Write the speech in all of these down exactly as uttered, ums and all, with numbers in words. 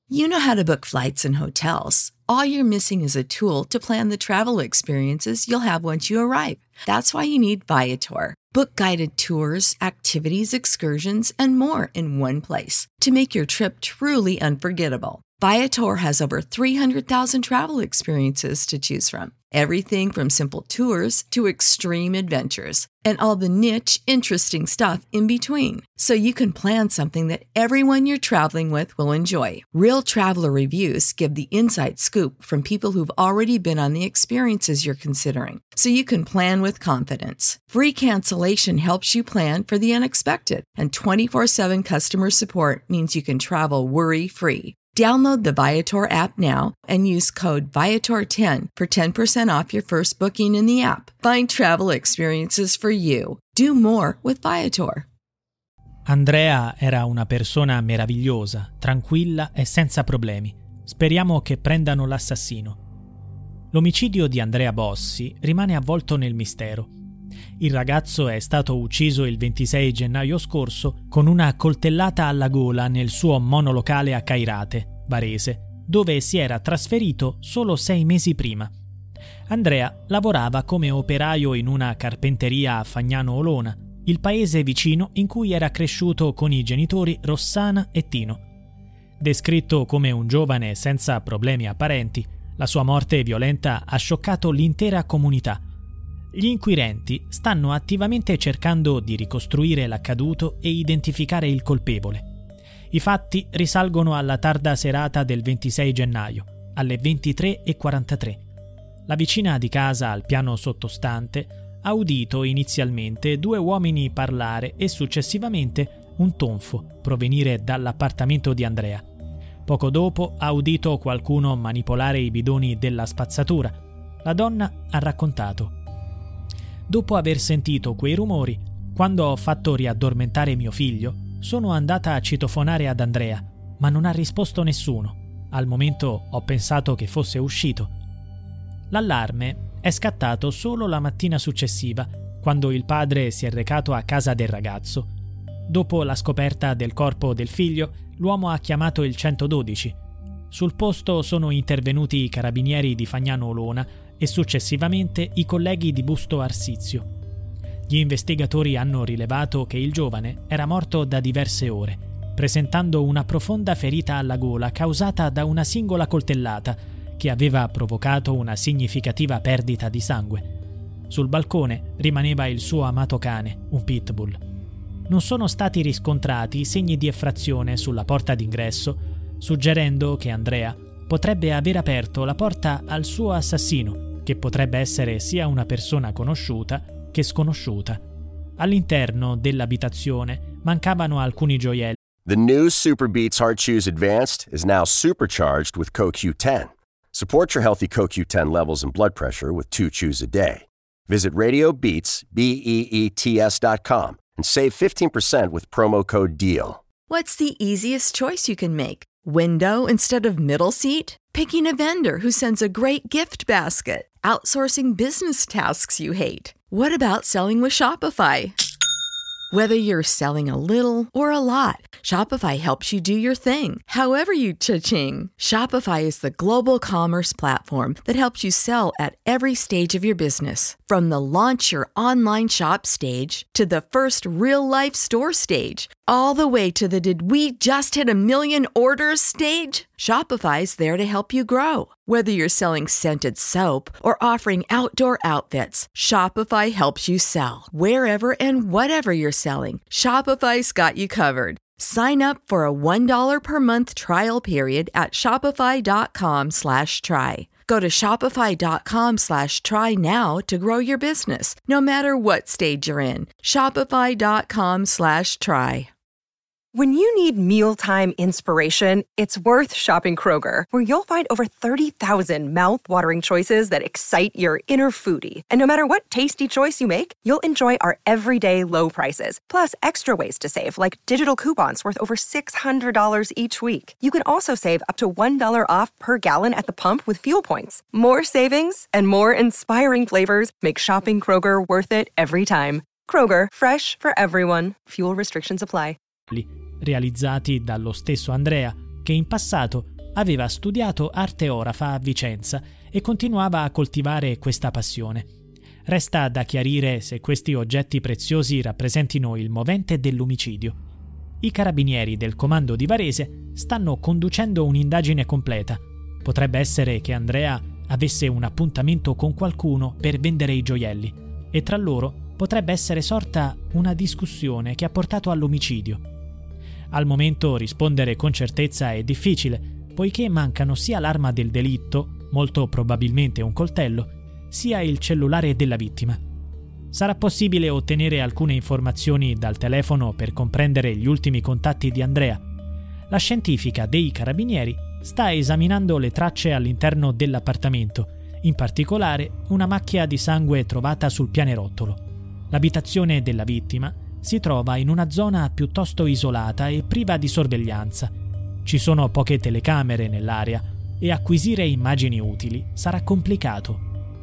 You know how to book flights and hotels. All you're missing is a tool to plan the travel experiences you'll have once you arrive. That's why you need Viator. Book guided tours, activities, excursions, and more in one place to make your trip truly unforgettable. Viator has over three hundred thousand travel experiences to choose from. Everything from simple tours to extreme adventures and all the niche, interesting stuff in between. So you can plan something that everyone you're traveling with will enjoy. Real traveler reviews give the inside scoop from people who've already been on the experiences you're considering. So you can plan with confidence. Free cancellation helps you plan for the unexpected. And twenty-four seven customer support means you can travel worry-free. Download the Viator app now and use code Viator ten for ten percent off your first booking in the app. Find travel experiences for you. Do more with Viator. Andrea era una persona meravigliosa, tranquilla e senza problemi. Speriamo che prendano l'assassino. L'omicidio di Andrea Bossi rimane avvolto nel mistero. Il ragazzo è stato ucciso il ventisei gennaio scorso con una coltellata alla gola nel suo monolocale a Cairate, Varese, dove si era trasferito solo sei mesi prima. Andrea lavorava come operaio in una carpenteria a Fagnano Olona, il paese vicino in cui era cresciuto con i genitori Rossana e Tino. Descritto come un giovane senza problemi apparenti, la sua morte violenta ha scioccato l'intera comunità. Gli inquirenti stanno attivamente cercando di ricostruire l'accaduto e identificare il colpevole. I fatti risalgono alla tarda serata del ventisei gennaio, alle ventitré e quarantatré. La vicina di casa al piano sottostante ha udito inizialmente due uomini parlare e successivamente un tonfo provenire dall'appartamento di Andrea. Poco dopo ha udito qualcuno manipolare i bidoni della spazzatura. La donna ha raccontato: dopo aver sentito quei rumori, quando ho fatto riaddormentare mio figlio, sono andata a citofonare ad Andrea, ma non ha risposto nessuno. Al momento ho pensato che fosse uscito. L'allarme è scattato solo la mattina successiva, quando il padre si è recato a casa del ragazzo. Dopo la scoperta del corpo del figlio, l'uomo ha chiamato il centododici. Sul posto sono intervenuti i carabinieri di Fagnano Olona e successivamente i colleghi di Busto Arsizio. Gli investigatori hanno rilevato che il giovane era morto da diverse ore, presentando una profonda ferita alla gola causata da una singola coltellata che aveva provocato una significativa perdita di sangue. Sul balcone rimaneva il suo amato cane, un pitbull. Non sono stati riscontrati segni di effrazione sulla porta d'ingresso, suggerendo che Andrea potrebbe aver aperto la porta al suo assassino, che potrebbe essere sia una persona conosciuta che sconosciuta. All'interno dell'abitazione mancavano alcuni gioielli. The new Super Beats Heart Chews Advanced is now supercharged with C O Q ten. Support your healthy C O Q ten levels and blood pressure with two chews a day. Visit Radio Beats, B E E T S dot com and save fifteen percent with promo code DEAL. What's the easiest choice you can make? Window instead of middle seat? Picking a vendor who sends a great gift basket? Outsourcing business tasks you hate? What about selling with Shopify? Whether you're selling a little or a lot, Shopify helps you do your thing, however you cha-ching. Shopify is the global commerce platform that helps you sell at every stage of your business. From the launch your online shop stage to the first real-life store stage, all the way to the did we just hit a million orders stage? Shopify's there to help you grow. Whether you're selling scented soap or offering outdoor outfits, Shopify helps you sell. Wherever and whatever you're selling, Shopify's got you covered. Sign up for a one dollar per month trial period at shopify.com slash try. Go to shopify.com slash try now to grow your business, no matter what stage you're in. Shopify.com slash try. When you need mealtime inspiration, it's worth shopping Kroger, where you'll find over thirty thousand mouth-watering choices that excite your inner foodie. And no matter what tasty choice you make, you'll enjoy our everyday low prices, plus extra ways to save, like digital coupons worth over six hundred dollars each week. You can also save up to one dollar off per gallon at the pump with fuel points. More savings and more inspiring flavors make shopping Kroger worth it every time. Kroger, fresh for everyone. Fuel restrictions apply. Realizzati dallo stesso Andrea, che in passato aveva studiato arte orafa a Vicenza e continuava a coltivare questa passione. Resta da chiarire se questi oggetti preziosi rappresentino il movente dell'omicidio. I carabinieri del comando di Varese stanno conducendo un'indagine completa. Potrebbe essere che Andrea avesse un appuntamento con qualcuno per vendere i gioielli e tra loro potrebbe essere sorta una discussione che ha portato all'omicidio. Al momento rispondere con certezza è difficile, poiché mancano sia l'arma del delitto, molto probabilmente un coltello, sia il cellulare della vittima. Sarà possibile ottenere alcune informazioni dal telefono per comprendere gli ultimi contatti di Andrea. La scientifica dei carabinieri sta esaminando le tracce all'interno dell'appartamento, in particolare una macchia di sangue trovata sul pianerottolo. L'abitazione della vittima si trova in una zona piuttosto isolata e priva di sorveglianza. Ci sono poche telecamere nell'area e acquisire immagini utili sarà complicato.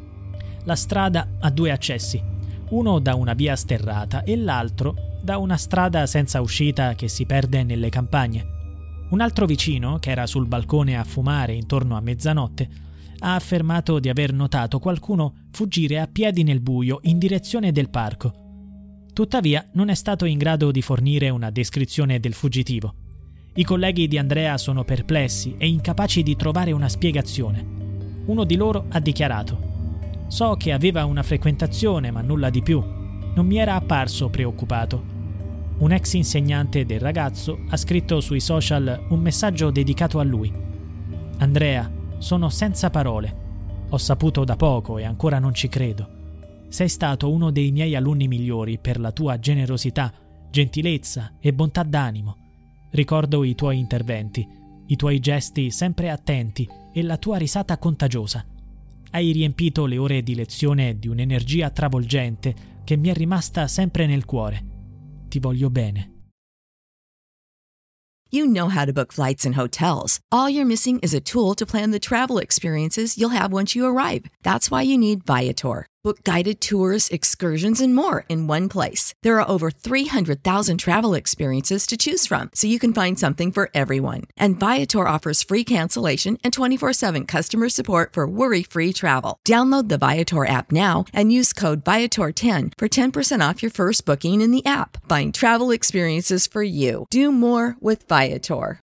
La strada ha due accessi, uno da una via sterrata e l'altro da una strada senza uscita che si perde nelle campagne. Un altro vicino, che era sul balcone a fumare intorno a mezzanotte, ha affermato di aver notato qualcuno fuggire a piedi nel buio in direzione del parco. Tuttavia non è stato in grado di fornire una descrizione del fuggitivo. I colleghi di Andrea sono perplessi e incapaci di trovare una spiegazione. Uno di loro ha dichiarato: «So che aveva una frequentazione, ma nulla di più. Non mi era apparso preoccupato». Un ex insegnante del ragazzo ha scritto sui social un messaggio dedicato a lui. «Andrea, sono senza parole. Ho saputo da poco e ancora non ci credo. Sei stato uno dei miei alunni migliori per la tua generosità, gentilezza e bontà d'animo. Ricordo i tuoi interventi, i tuoi gesti sempre attenti e la tua risata contagiosa. Hai riempito le ore di lezione di un'energia travolgente che mi è rimasta sempre nel cuore. Ti voglio bene». You know how to book flights and hotels. All you're missing is a tool to plan the travel experiences you'll have once you arrive. That's why you need Viator. Book guided tours, excursions, and more in one place. There are over three hundred thousand travel experiences to choose from, so you can find something for everyone. And Viator offers free cancellation and twenty-four seven customer support for worry-free travel. Download the Viator app now and use code Viator ten for ten percent off your first booking in the app. Find travel experiences for you. Do more with Viator.